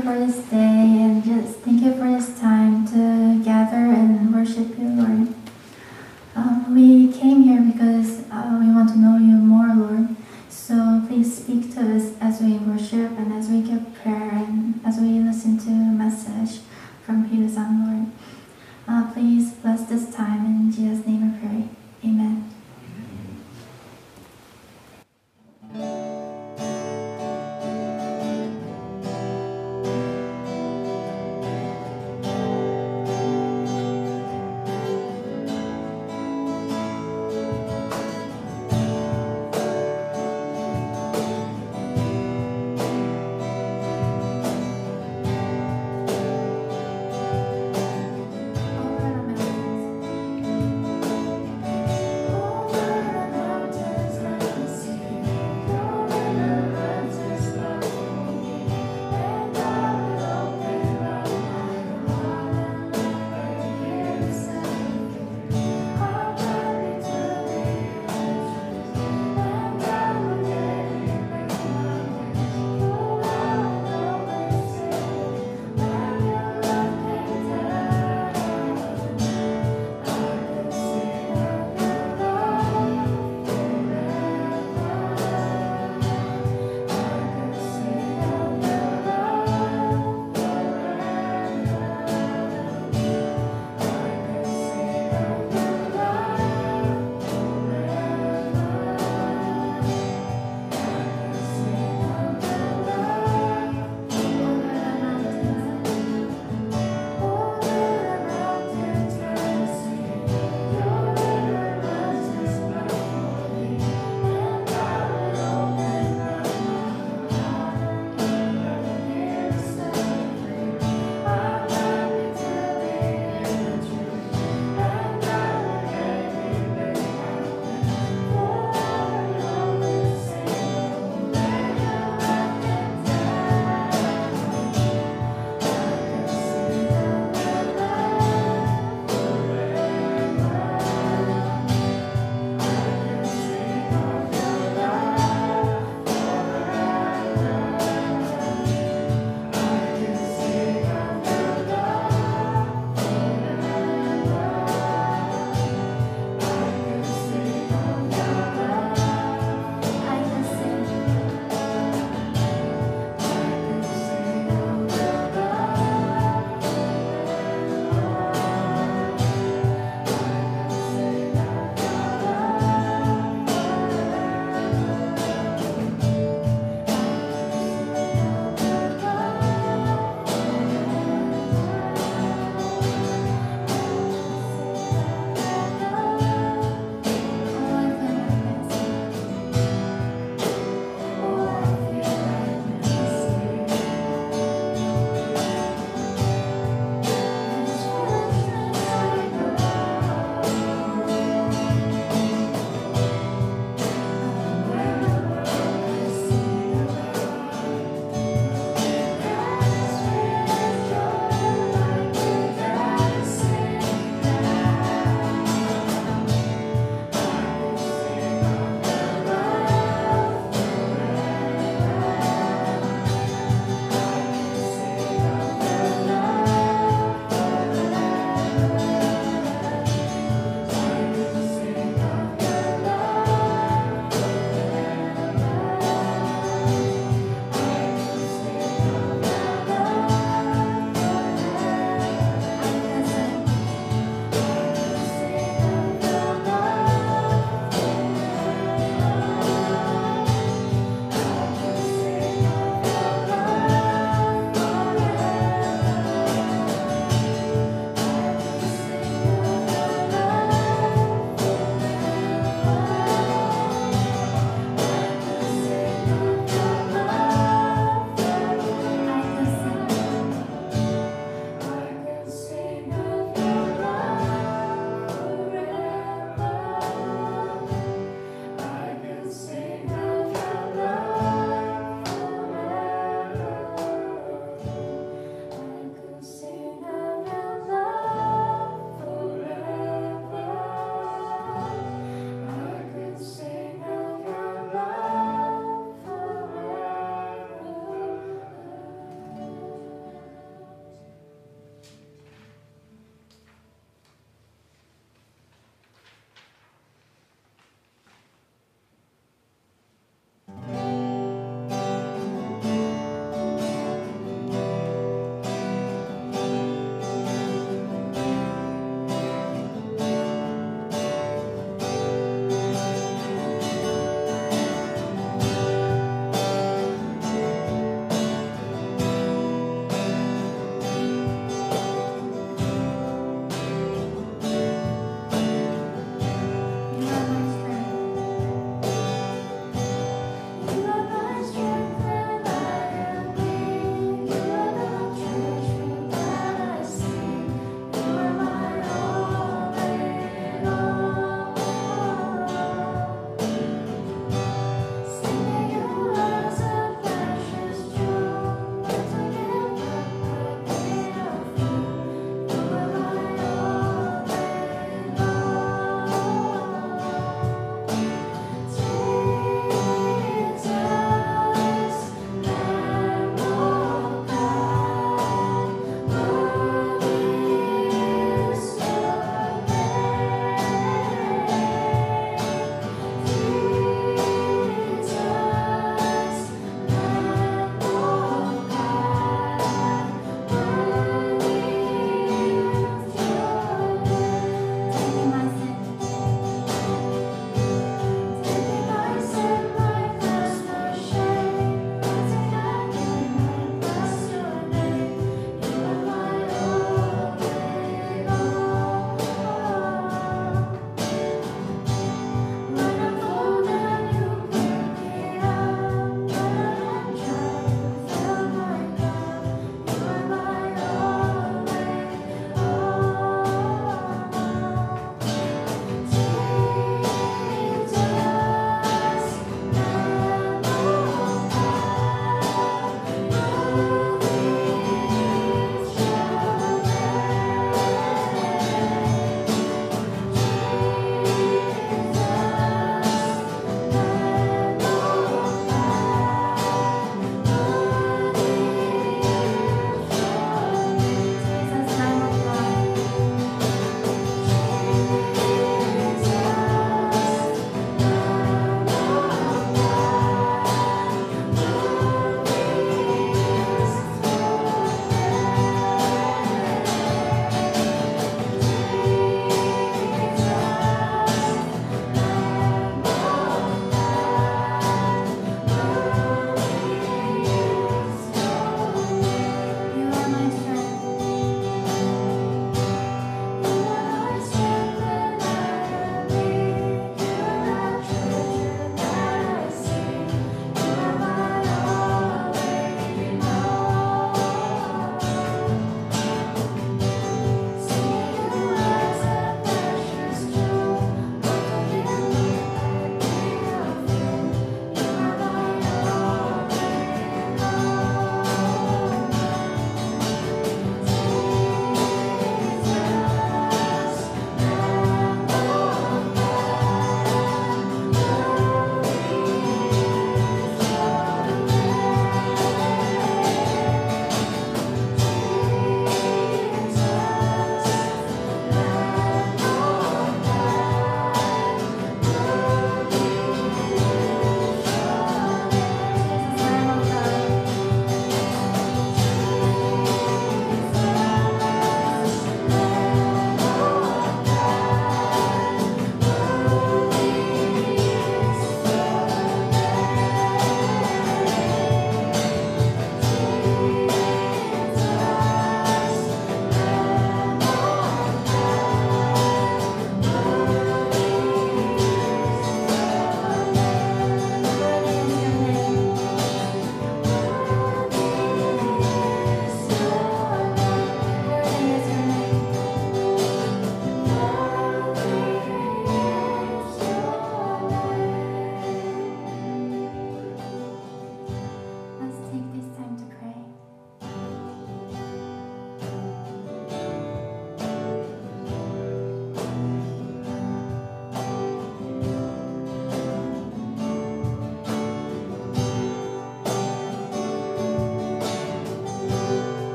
you for this day, and just thank you for this time to gather and worship you, Lord. We came here because we want to know you more, Lord. So please speak to us as we worship and as we give prayer and as we listen to a message from Hugh-san, Lord. Please bless this time. In Jesus' name I pray. Amen.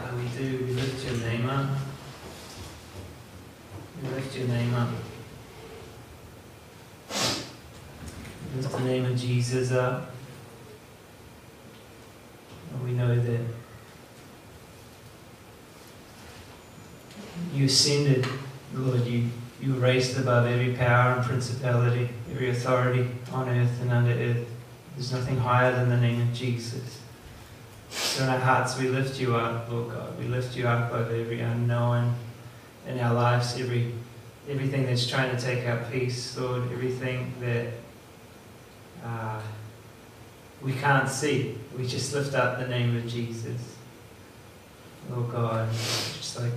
Father, we do. We lift your name up. We lift your name up. We lift the name of Jesus up. And we know that you ascended, Lord. You were raised above every power and principality, every authority on earth and under earth. There's nothing higher than the name of Jesus. So in our hearts we lift you up, Lord God. We lift you up over every unknown in our lives, everything that's trying to take our peace, Lord, everything that we can't see. We just lift up the name of Jesus. Lord God, just like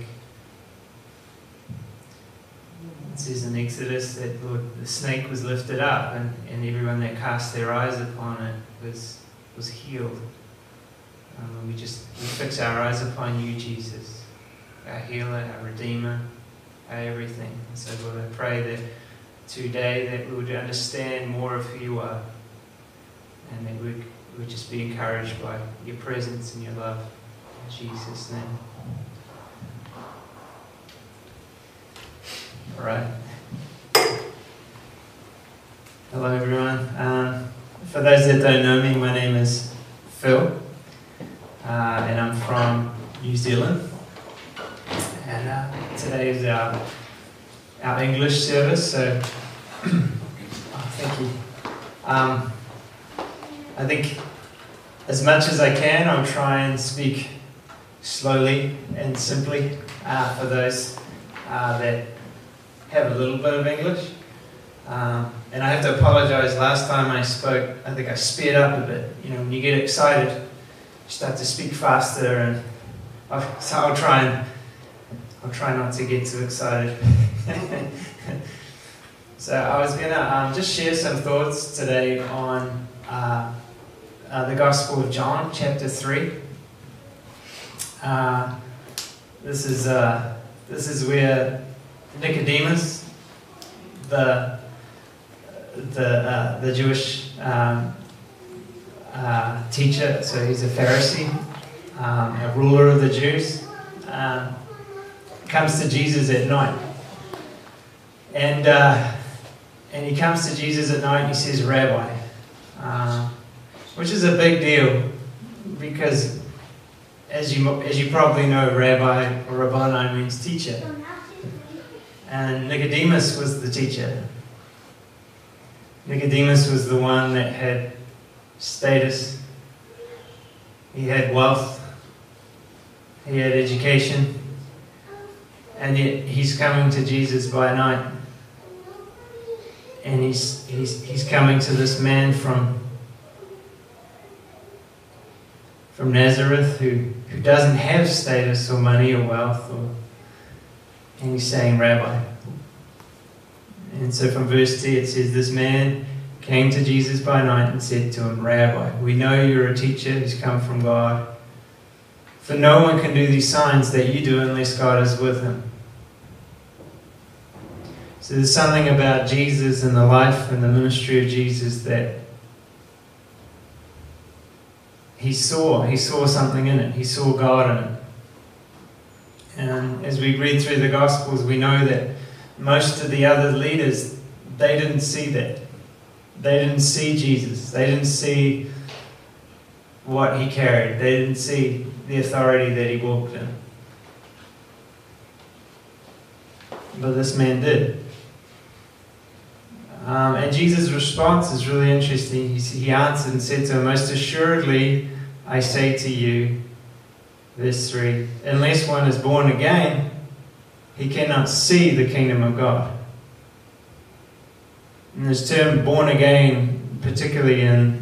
it says in Exodus that, Lord, the snake was lifted up and everyone that cast their eyes upon it was healed. We fix our eyes upon you, Jesus, our healer, our redeemer, our everything. And so, Lord, I pray that today that we would understand more of who you are and that we would just be encouraged by your presence and your love. In Jesus' name. All right. Hello, everyone. For those that don't know me, my name is Phil. And I'm from New Zealand, and today is our English service, so thank you. I think as much as I can, I'll try and speak slowly and simply for those that have a little bit of English. And I have to apologize, last time I spoke, I think I sped up a bit. You know, when you get excited, you start to speak faster, and so I'll try not to get too excited. So I was gonna just share some thoughts today on the Gospel of John, chapter 3. This is where Nicodemus, the Jewish teacher, so he's a Pharisee, a ruler of the Jews, comes to Jesus at night, and he comes to Jesus at night and he says, "Rabbi," which is a big deal because, as you probably know, Rabbi or Rabboni means teacher, and Nicodemus was the teacher. Nicodemus was the one that had status, he had wealth, he had education, and yet he's coming to Jesus by night, and he's coming to this man from Nazareth who doesn't have status or money or wealth, and he's saying, "Rabbi." And so from verse 2 it says, "This man came to Jesus by night and said to him, 'Rabbi, we know you're a teacher who's come from God, for no one can do these signs that you do unless God is with him.'" So there's something about Jesus and the life and the ministry of Jesus that he saw something in it. He saw God in it. And as we read through the Gospels, we know that most of the other leaders, they didn't see that. They didn't see Jesus. They didn't see what he carried. They didn't see the authority that he walked in. But this man did. And Jesus' response is really interesting. He answered and said to him, "Most assuredly, I say to you," verse 3, "unless one is born again, he cannot see the kingdom of God." And this term "born again," particularly in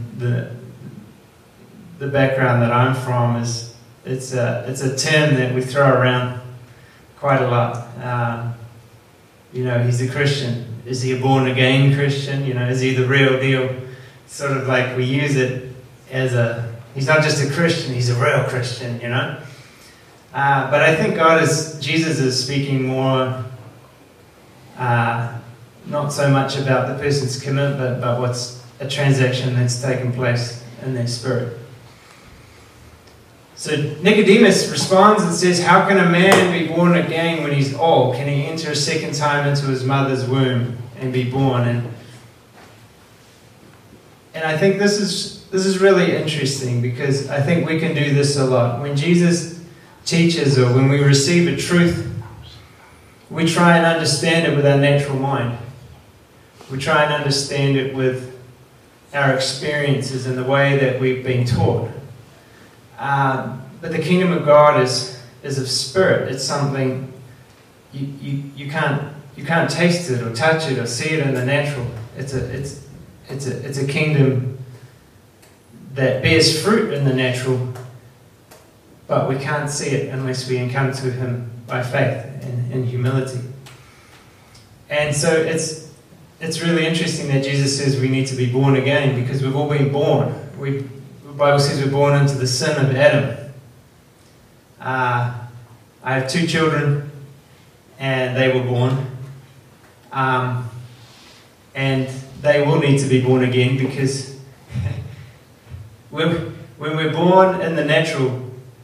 the background that I'm from, it's a term that we throw around quite a lot. He's a Christian. Is he a born again Christian? Is he the real deal? Sort of like we use it as he's not just a Christian, he's a real Christian, But I think Jesus is speaking more, not so much about the person's commitment, but what's a transaction that's taken place in their spirit. So Nicodemus responds and says, how can a man be born again when he's old? Can he enter a second time into his mother's womb and be born? And I think this is really interesting, because I think we can do this a lot. When Jesus teaches, or when we receive a truth, we try and understand it with our natural mind. We try and understand it with our experiences and the way that we've been taught. But the kingdom of God is of spirit. It's something you can't taste it or touch it or see it in the natural. It's a kingdom that bears fruit in the natural, but we can't see it unless we come to Him by faith and humility. And so it's really interesting that Jesus says we need to be born again, because we've all been born. The Bible says we're born into the sin of Adam. I have 2 children, and they were born. And they will need to be born again, because when we're born in the natural,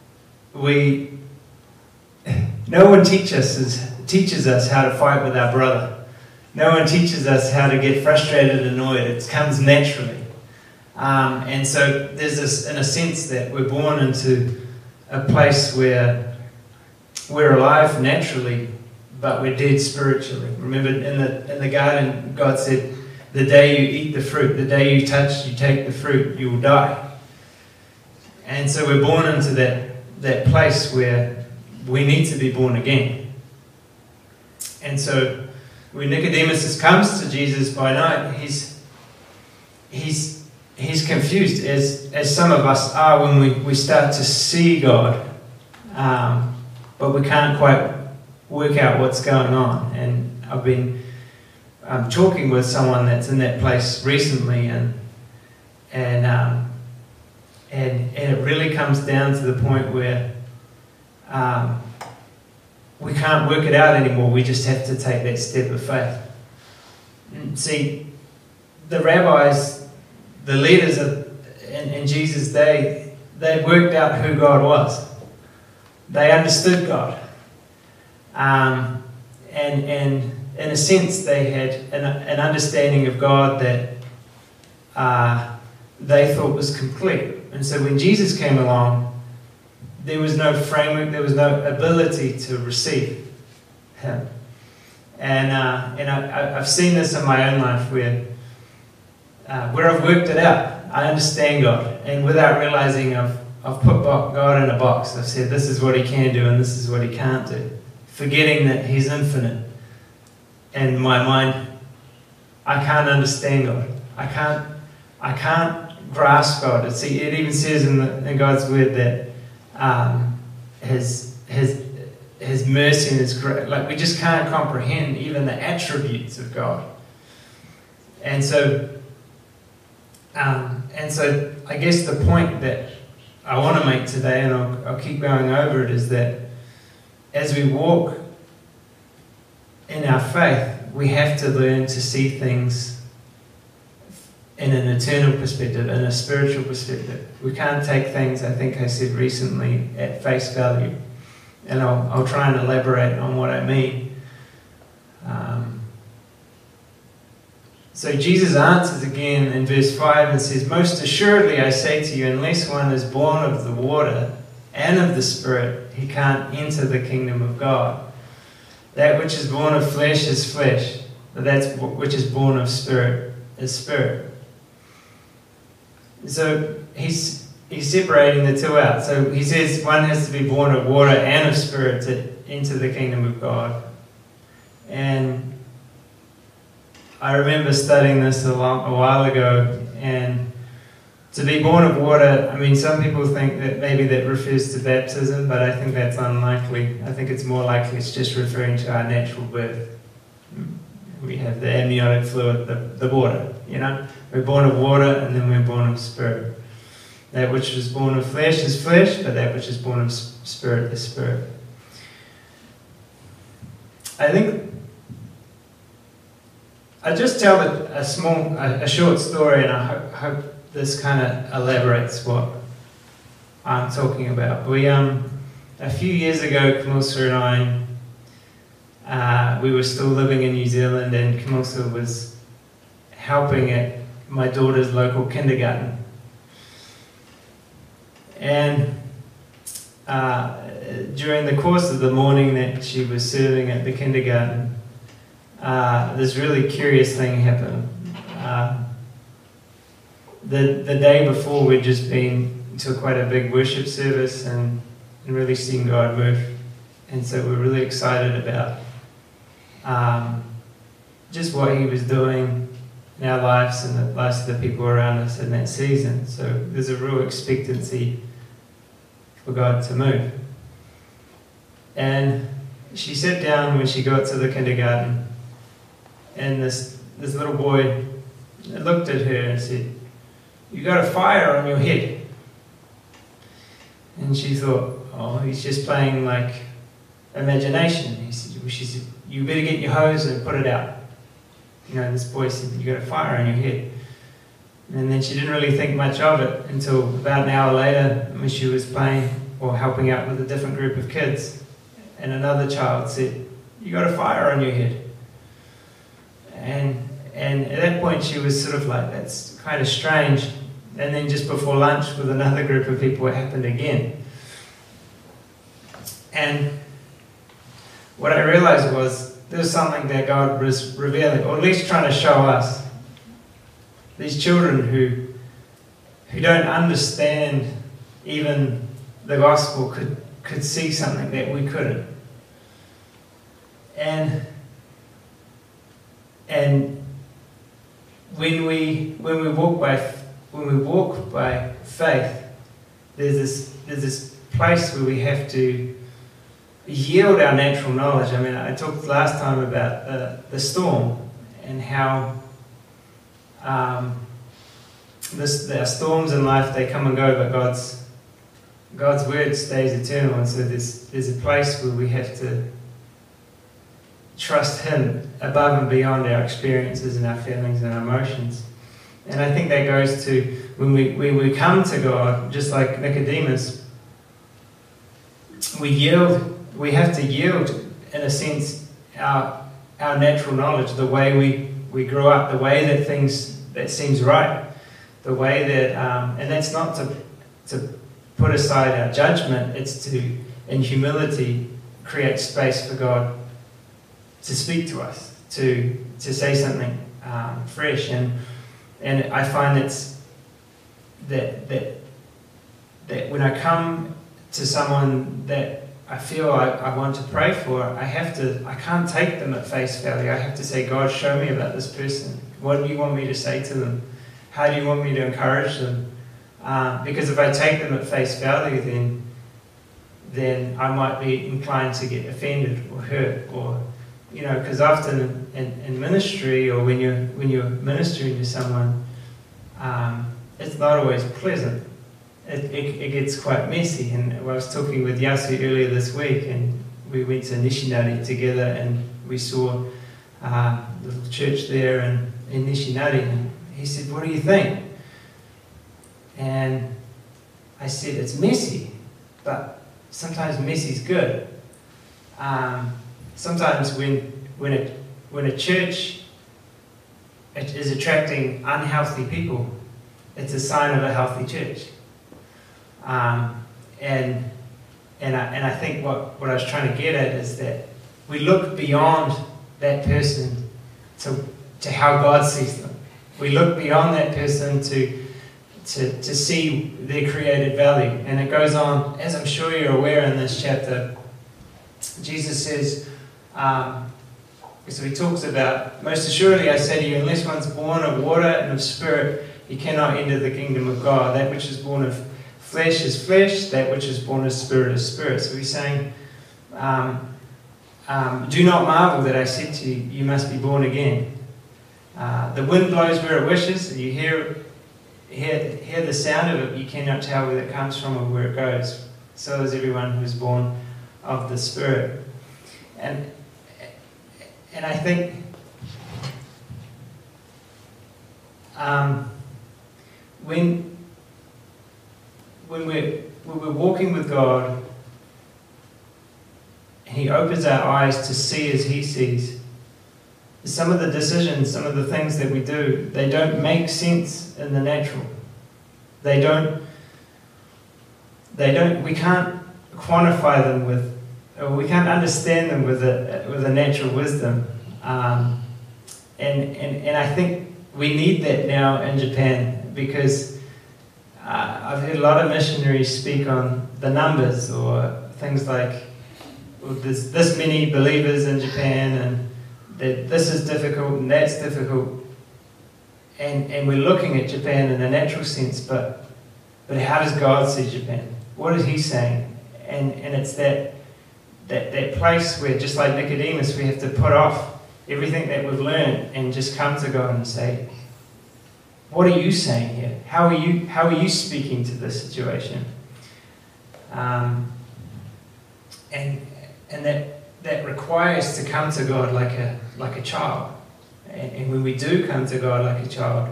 no one teaches us how to fight with our brother. No one teaches us how to get frustrated and annoyed. It comes naturally. And so there's this, in a sense, that we're born into a place where we're alive naturally, but we're dead spiritually. Remember, in the garden, God said, the day you eat the fruit, the day you take the fruit, you will die. And so we're born into that place where we need to be born again. And so when Nicodemus comes to Jesus by night, he's confused, as some of us are when we start to see God, but we can't quite work out what's going on. And I've been talking with someone that's in that place recently, and it really comes down to the point where we can't work it out anymore. We just have to take that step of faith. And see, the rabbis, the leaders in Jesus' day, they worked out who God was. They understood God. And in a sense, they had an understanding of God that they thought was complete. And so when Jesus came along, there was no framework, there was no ability to receive Him. And I've seen this in my own life where I've worked it out. I understand God, and without realizing I've put God in a box. I've said this is what He can do and this is what He can't do, forgetting that He's infinite. And in my mind, I can't understand God. I can't grasp God. See, it even says in God's word that His mercy and His grace, like, we just can't comprehend even the attributes of God. And so I guess the point that I want to make today, and I'll keep going over it, is that as we walk in our faith, we have to learn to see things in an eternal perspective, in a spiritual perspective. We can't take things, I think I said recently, at face value. And I'll try and elaborate on what I mean. So Jesus answers again in verse 5 and says, "Most assuredly I say to you, unless one is born of the water and of the Spirit, he can't enter the kingdom of God. That which is born of flesh is flesh, but that which is born of Spirit is spirit." So he's separating the two out. So he says one has to be born of water and of Spirit to enter the kingdom of God. And I remember studying this a while ago, and to be born of water, I mean, some people think that maybe that refers to baptism, but I think that's unlikely. I think it's more likely it's just referring to our natural birth. We have the amniotic fluid, the water, you know. We're born of water, and then we're born of Spirit. That which is born of flesh is flesh, but that which is born of Spirit is spirit. I think I just tell a short story, and I hope this kind of elaborates what I'm talking about. We a few years ago, Kamilsa and I, we were still living in New Zealand, and Kamilsa was helping at my daughter's local kindergarten. And during the course of the morning that she was serving at the kindergarten, this really curious thing happened. The day before, we'd just been to quite a big worship service and really seen God move. And so we're really excited about just what He was doing in our lives and the lives of the people around us in that season. So there's a real expectancy for God to move. And she sat down when she got to the kindergarten, and this little boy looked at her and said, "You got a fire on your head." And she thought, oh, he's just playing like imagination. She said, "You better get your hose and put it out." You know, this boy said, "You got a fire on your head." And then she didn't really think much of it until about an hour later, when she was playing or helping out with a different group of kids. And another child said, "You got a fire on your head." And at that point she was sort of like, that's kind of strange. And then just before lunch with another group of people, it happened again. And what I realized was there was something that God was revealing, or at least trying to show us. These children who don't understand even the gospel could see something that we couldn't. And when we walk by faith, there's this place where we have to yield our natural knowledge. I mean, I talked last time about the storm and how the storms in life, they come and go, but God's word stays eternal. And so there's a place where we have to trust Him above and beyond our experiences and our feelings and our emotions. And I think that goes to when we come to God, just like Nicodemus, we have to yield, in a sense, our natural knowledge, the way we grew up, the way that seems right, the way that, and that's not to put aside our judgment, it's to, in humility, create space for God to speak to us, to say something fresh. And I find that when I come to someone that I feel I want to pray for, I can't take them at face value. I have to say, "God, show me about this person. What do you want me to say to them? How do you want me to encourage them?" Because if I take them at face value, then I might be inclined to get offended or hurt, or because often in ministry, or when you're ministering to someone, it's not always pleasant. It gets quite messy. And I was talking with Yasu earlier this week, and we went to Nishinari together, and we saw the little church there in Nishinari, and he said, "What do you think?" And I said, "It's messy, but sometimes messy's good." Sometimes when a church is attracting unhealthy people, it's a sign of a healthy church. And I think what I was trying to get at is that we look beyond that person to how God sees them. We look beyond that person to see their created value. And it goes on, as I'm sure you're aware in this chapter, Jesus says, so he talks about, "Most assuredly I say to you, unless one's born of water and of spirit, he cannot enter the kingdom of God. That which is born of flesh is flesh, that which is born of spirit is spirit." So he's saying, "Do not marvel that I said to you, you must be born again. The wind blows where it wishes, and you hear the sound of it, you cannot tell where it comes from or where it goes. So is everyone who is born of the Spirit." And I think when we're walking with God, and He opens our eyes to see as He sees, some of the decisions, some of the things that we do, they don't make sense in the natural. We can't quantify them we can't understand them with a natural wisdom. And I think we need that now in Japan, because I've heard a lot of missionaries speak on the numbers, or things like, well, there's this many believers in Japan, and that this is difficult and that's difficult. And we're looking at Japan in a natural sense, but how does God see Japan? What is He saying? And it's that place where, just like Nicodemus, we have to put off everything that we've learned and just come to God and say, what are you saying here? How are you speaking to this situation? And that requires to come to God like a child. And when we do come to God like a child,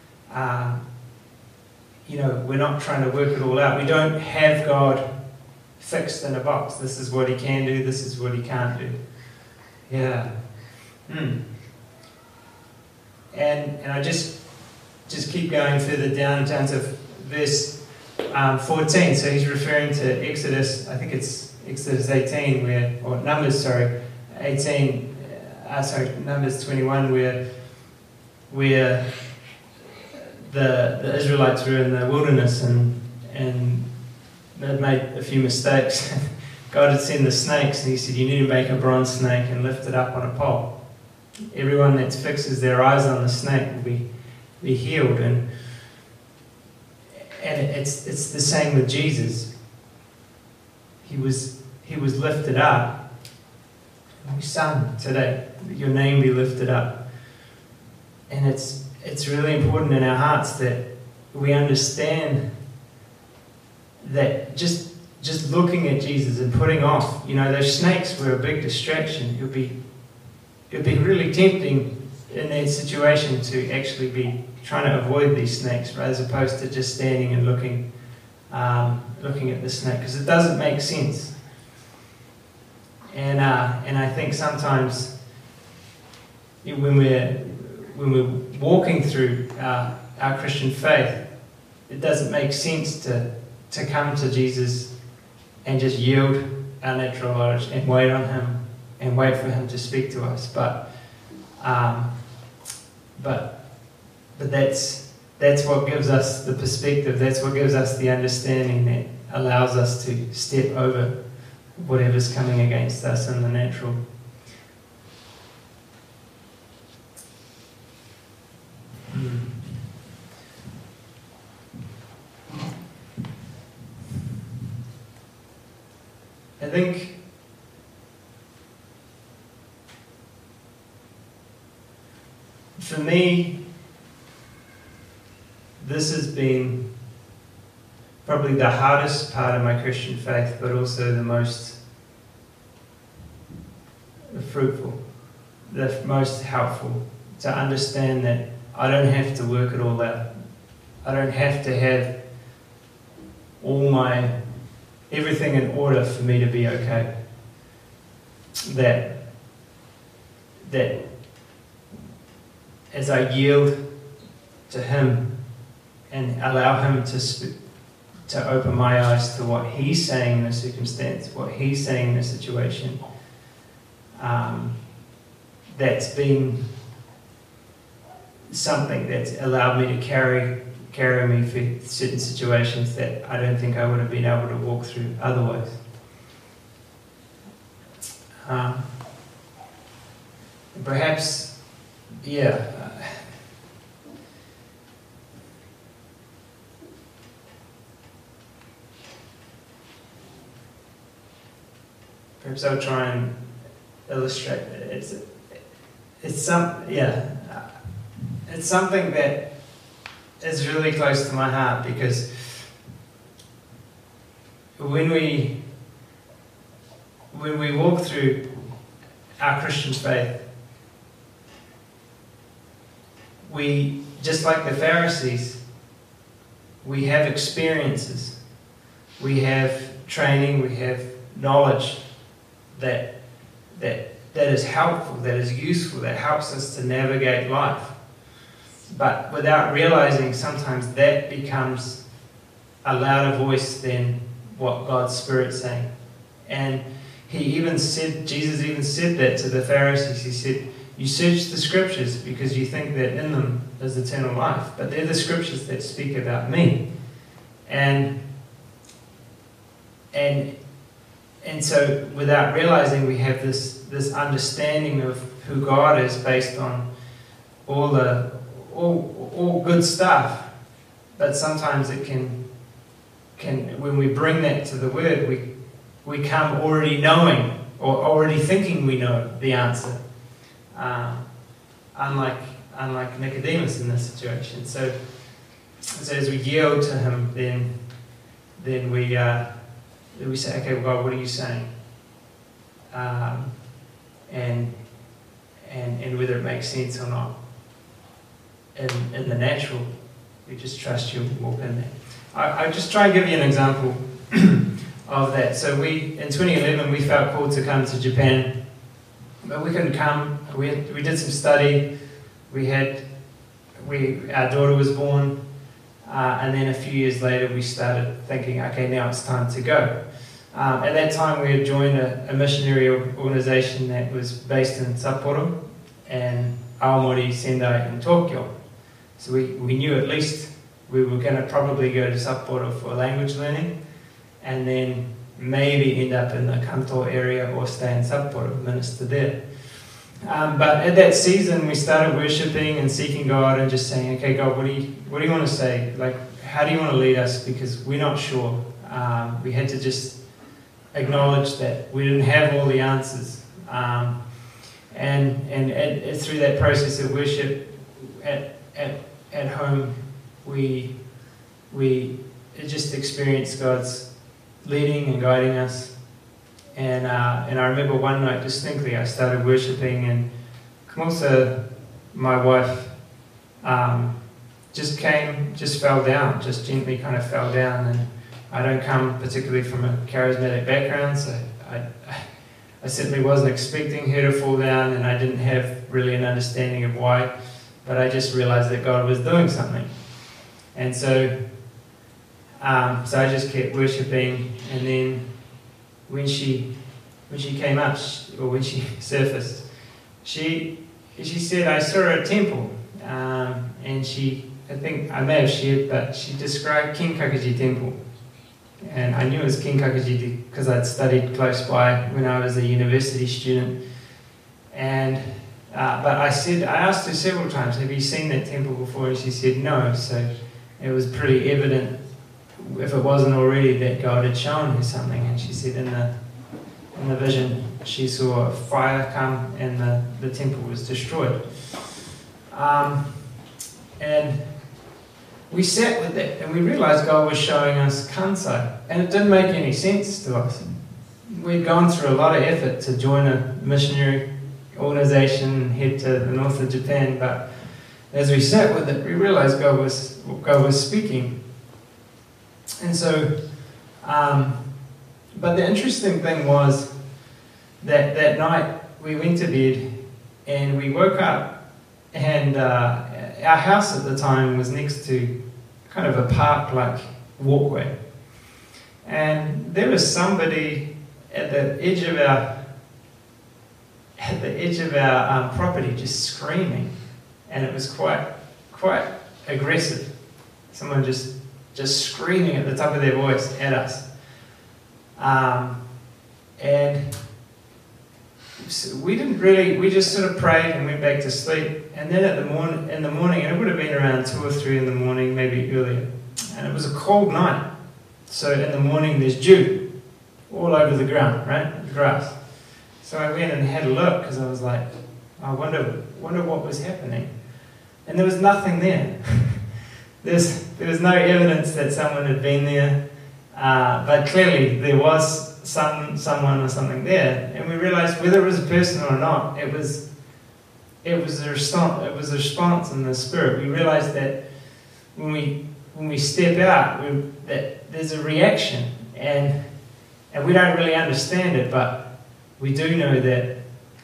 we're not trying to work it all out. We don't have God fixed in a box. This is what He can do, this is what He can't do. Yeah. And I just keep going further down to verse 14. So he's referring to Exodus, I think it's Exodus 18, Numbers 21, where the Israelites were in the wilderness and they'd made a few mistakes. God had sent the snakes, and He said, you need to make a bronze snake and lift it up on a pole. Everyone that fixes their eyes on the snake will be healed. And it's the same with Jesus. He was lifted up. We sung today, your name be lifted up. And it's really important in our hearts that we understand that just looking at Jesus and putting off, those snakes were a big distraction. It would be really tempting in that situation to actually be trying to avoid these snakes, as opposed to just standing and looking at the snake, because it doesn't make sense. And I think sometimes when we're walking through our Christian faith, it doesn't make sense to come to Jesus and just yield our natural knowledge and wait on Him and wait for Him to speak to us. But that's what gives us the perspective. That's what gives us the understanding that allows us to step over whatever's coming against us in the natural. I think for me, this has been probably the hardest part of my Christian faith, but also the most fruitful, the most helpful, to understand that I don't have to work it all out. I don't have to have everything in order for me to be okay. That as I yield to Him and allow Him to open my eyes to what He's saying in a circumstance, what He's saying in a situation, that's been something that's allowed me to carry me for certain situations that I don't think I would have been able to walk through otherwise. Perhaps, perhaps I'll try and illustrate it. It's something that is really close to my heart, because when we walk through our Christian faith, we, just like the Pharisees, we have experiences we have training, we have knowledge that is helpful, that is useful, that helps us to navigate life. But without realizing, sometimes that becomes a louder voice than what God's Spirit's saying. And Jesus even said that to the Pharisees. He said, you search the Scriptures because you think that in them is eternal life, but they're the Scriptures that speak about me. And so without realizing, we have this understanding of who God is based on all good stuff. But sometimes it can when we bring that to the Word, we come already knowing or already thinking we know the answer. Unlike Nicodemus in this situation. So as we yield to him, then we say, okay, well, God, what are you saying? And whether it makes sense or not. In the natural, we just trust you and walk in there. I just try and give you an example of that. So in 2011, we felt called to come to Japan, but we couldn't come. We did some study. Our daughter was born, and then a few years later, we started thinking, okay, now it's time to go. At that time, we had joined a missionary organization that was based in Sapporo and Aomori, Sendai, and Tokyo. So we knew at least we were going to probably go to Sapporo for language learning, and then maybe end up in the Kanto area or stay in Sapporo, minister there. But at that season, we started worshipping and seeking God and just saying, okay, God, what do you want to say? Like, how do you want to lead us? Because we're not sure. We had to just acknowledge that we didn't have all the answers. And through that process of worship at home, we just experienced God's leading and guiding us. And I remember one night distinctly, I started worshipping, and Kamosa, my wife, just fell down, just gently kind of fell down. And I don't come particularly from a charismatic background, so I certainly wasn't expecting her to fall down, and I didn't have really an understanding of why, but I just realized that God was doing something. And so I just kept worshipping, and then when she came up, or when she surfaced, she said, I saw her at temple, and I think I may have shared, but she described Kinkakuji Temple. And I knew it was Kinkakuji because I'd studied close by when I was a university student. And but I asked her several times, have you seen that temple before? And she said no. So it was pretty evident, if it wasn't already, that God had shown her something. And she said in the vision she saw a fire come and the temple was destroyed. And we sat with that and we realized God was showing us Kansai, and it didn't make any sense to us. We'd gone through a lot of effort to join a missionary organization and head to the north of Japan, but as we sat with it, we realized God was speaking. And so, but the interesting thing was that night we went to bed and we woke up, and our house at the time was next to kind of a park-like walkway. And there was somebody at the edge of our property just screaming, and it was quite aggressive. Someone just screaming at the top of their voice at us. And so we just sort of prayed and went back to sleep. And then in the morning, and it would have been around 2 or 3 in the morning, maybe earlier, and it was a cold night. So in the morning there's dew all over the ground, right? The grass. So I went and had a look because I was like, I wonder what was happening. And there was nothing there. There was no evidence that someone had been there, but clearly there was someone or something there, and we realized whether it was a person or not, it was a response. It was a response in the spirit. We realized that when we step out, that there's a reaction, and we don't really understand it, but we do know that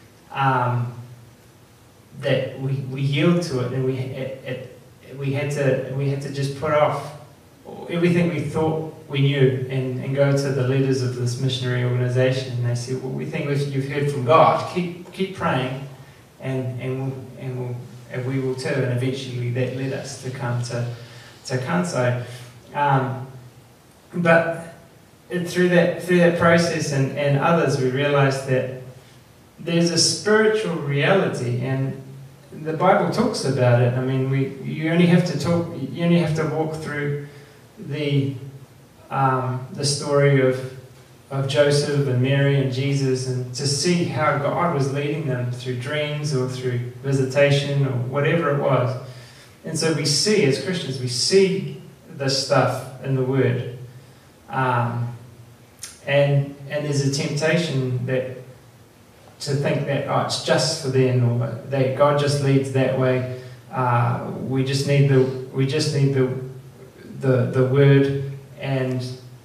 that we yield to it, and we had to just put off everything we thought we knew and go to the leaders of this missionary organization, and they said, well, we think you've heard from God, keep praying, and we will too. And eventually that led us to come to Kansai. But through that process and others, we realized that there's a spiritual reality, and the Bible talks about it. I mean, you only have to walk through the story of Joseph and Mary and Jesus, and to see how God was leading them through dreams or through visitation or whatever it was. And so we see, as Christians, we see this stuff in the Word. And there's a temptation to think that it's just for them, or that God just leads that way. We just need the Word, and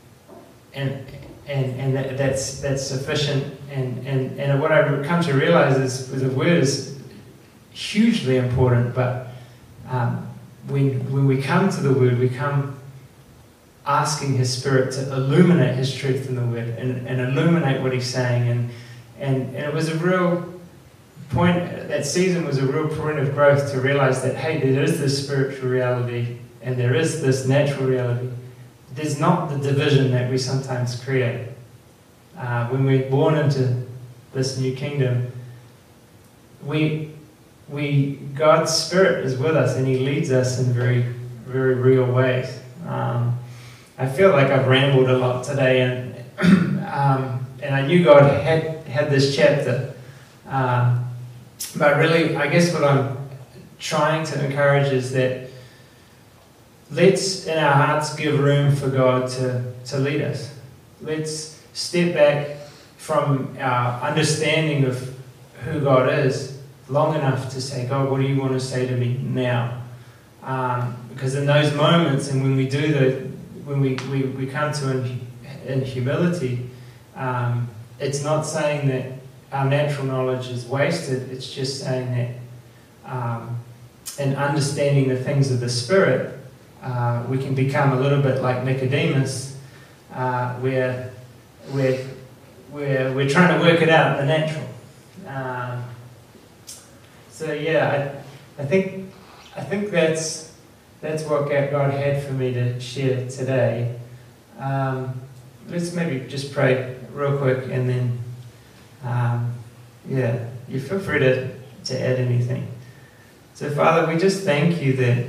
that's sufficient. And what I've come to realize is the Word is hugely important. But when we come to the Word, we come asking His Spirit to illuminate His truth in the Word and illuminate what He's saying. And it was a real point, that season was a real point of growth to realize that, hey, there is this spiritual reality and there is this natural reality. There's not the division that we sometimes create. When we're born into this new kingdom, God's Spirit is with us, and He leads us in very, very real ways. I feel like I've rambled a lot today, and I knew God had this chapter, but really, I guess what I'm trying to encourage is that let's, in our hearts, give room for God to lead us. Let's step back from our understanding of who God is long enough to say, God, what do you want to say to me now? Because in those moments, and when we do when we come to in humility, it's not saying that our natural knowledge is wasted. It's just saying that in understanding the things of the Spirit, we can become a little bit like Nicodemus, where we're trying to work it out in the natural. So yeah, I think that's what God had for me to share today. Let's maybe just pray real quick, and then you feel free to add anything. So Father, we just thank you that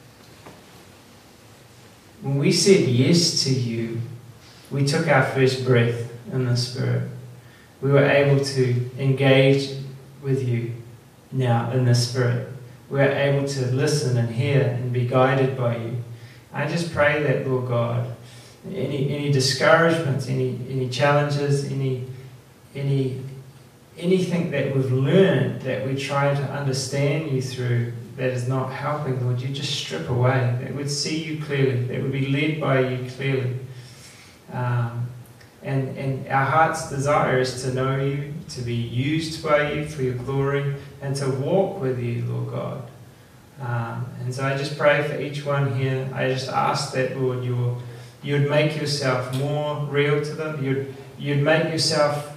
when we said yes to you, we took our first breath in the Spirit. We were able to engage with you now in the Spirit. We are able to listen and hear and be guided by you. I just pray that, Lord God, any discouragements, any challenges, anything that we've learned that we try to understand you through that is not helping, Lord, you just strip away. That we'd see you clearly, that we'd be led by you clearly. And our heart's desire is to know you, to be used by you for your glory, and to walk with you, Lord God. And so I just pray for each one here. I just ask that, Lord, you'd make yourself more real to them. You'd make yourself,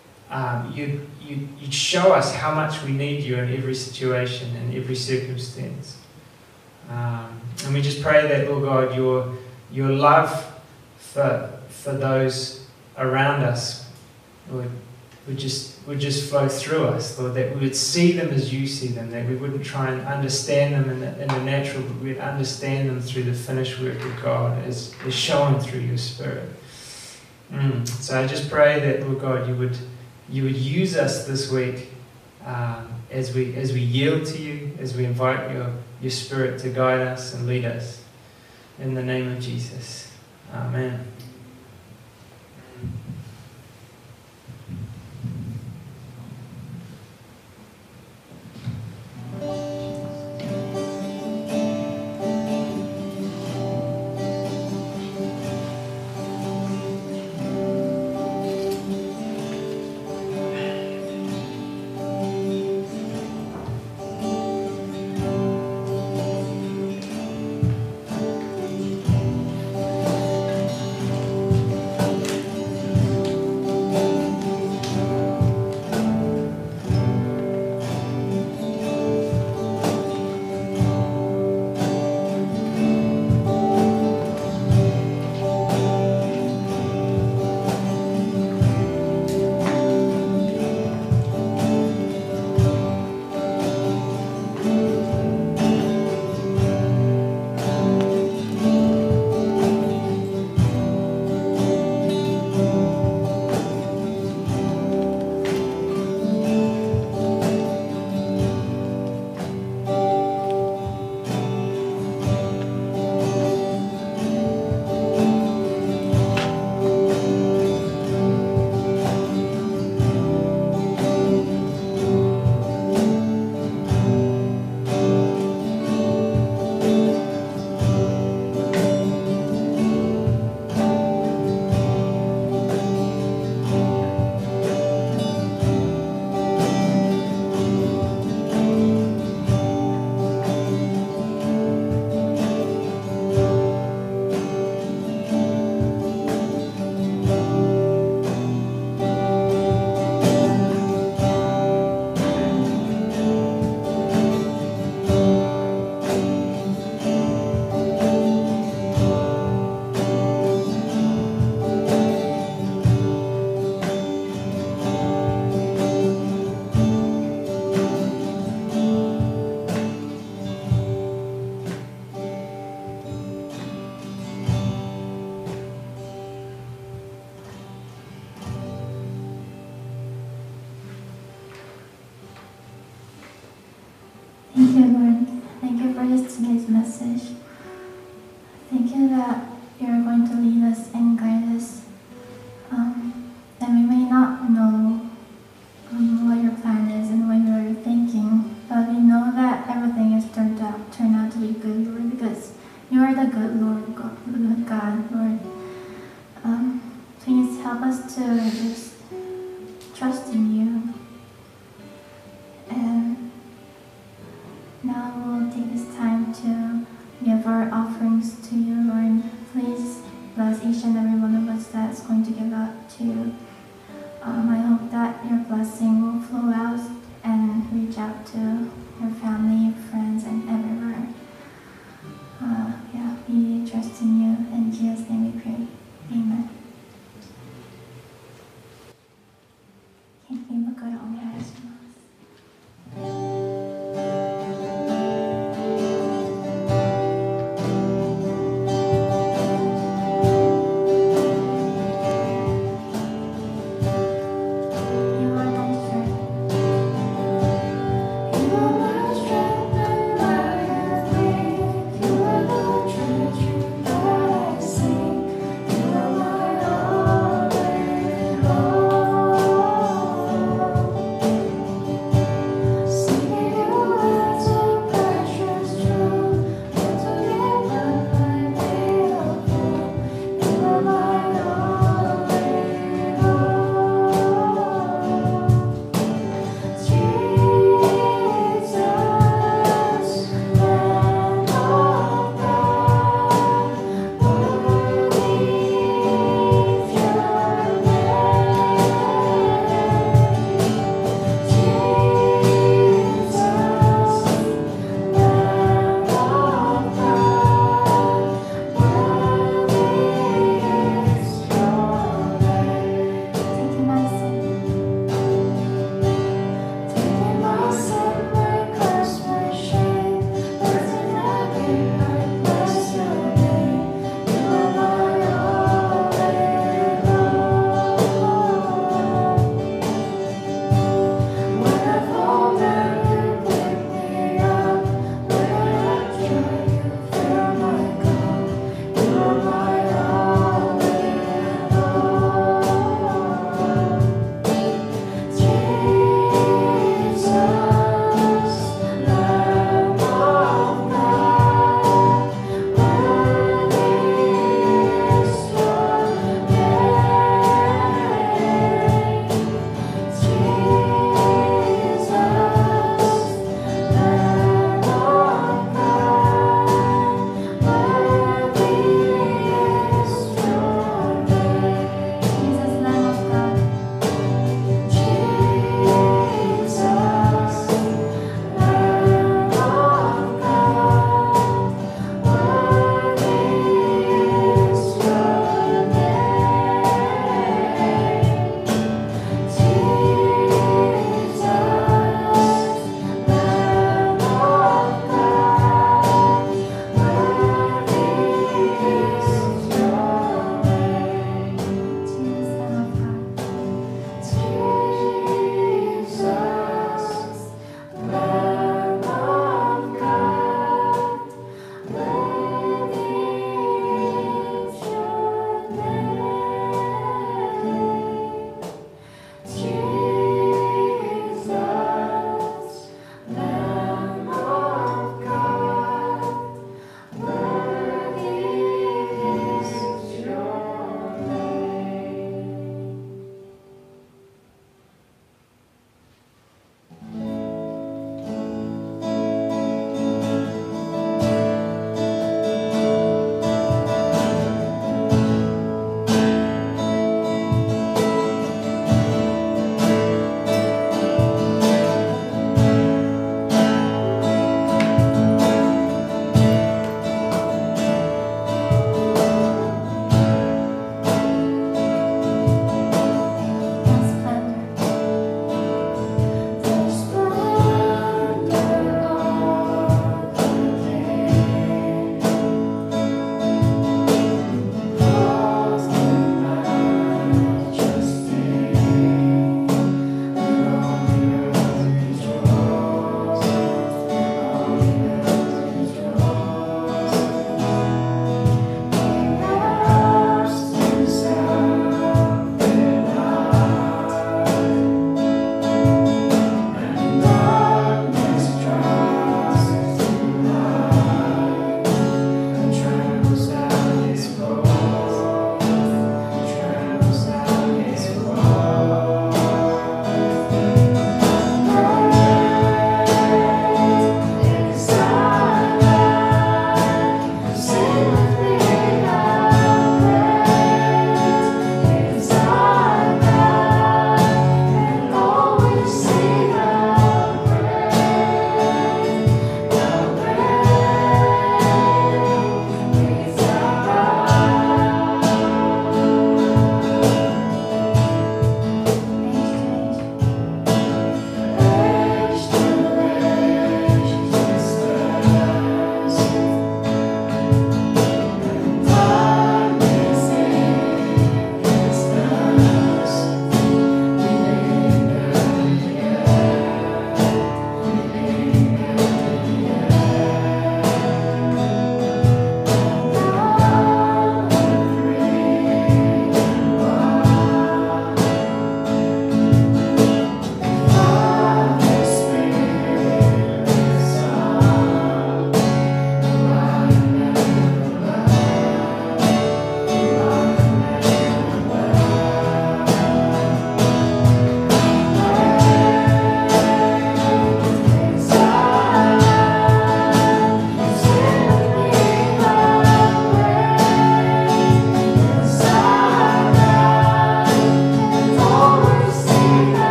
you'd show us how much we need you in every situation, in every circumstance. And we just pray that, Lord God, your love for those around us, Lord, would just flow through us, Lord, that we would see them as you see them, that we wouldn't try and understand them in the natural, but we'd understand them through the finished work of God as shown through your Spirit. So I just pray that, Lord God, you would use us this week as we yield to you, as we invite your Spirit to guide us and lead us. In the name of Jesus. Amen. you, Lord. Thank you for today's message. Thank you that you're going to lead us and guide us. And we may not know what your plan is and what you're thinking, but we know that everything has turned out to be good, Lord, because you are the good Lord, the good God, Lord. Please help us to just trust in you. And now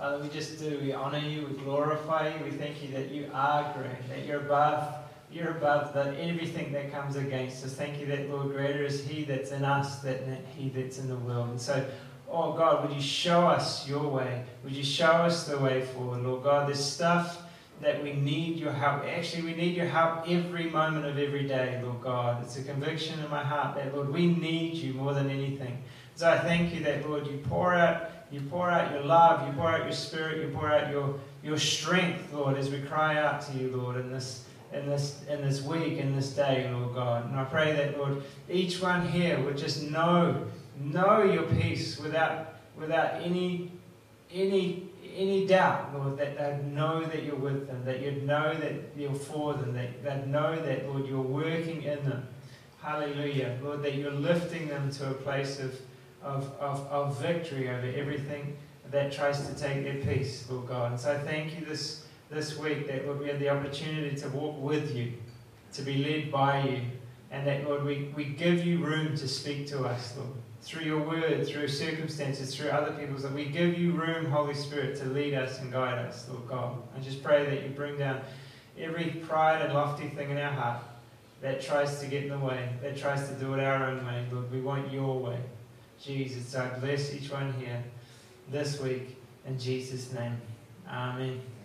Father, we just do. We honour you, we glorify you, we thank you that you are great, that you're above everything that comes against us. Thank you that, Lord, greater is He that's in us than he that's in the world. And so, oh God, would you show us your way? Would you show us the way forward, Lord God? There's stuff that we need your help. Actually, we need your help every moment of every day, Lord God. It's a conviction in my heart that, Lord, we need you more than anything. So I thank you that, Lord, you pour out your love, you pour out your spirit, you pour out your strength, Lord, as we cry out to you, Lord, in this week, in this day, Lord God. And I pray that, Lord, each one here would just know your peace without any doubt, Lord, that they'd know that you're with them, that you'd know that you're for them, that they'd know that, Lord, you're working in them. Hallelujah. Lord, that you're lifting them to a place of victory over everything that tries to take their peace, Lord God. And so I thank you this week that, Lord, we have the opportunity to walk with you, to be led by you, and that, Lord, we give you room to speak to us, Lord, through your word, through circumstances, through other people's, that we give you room, Holy Spirit, to lead us and guide us, Lord God. I just pray that you bring down every pride and lofty thing in our heart that tries to get in the way, that tries to do it our own way, Lord. We want your way, Jesus. So I bless each one here this week in Jesus' name. Amen.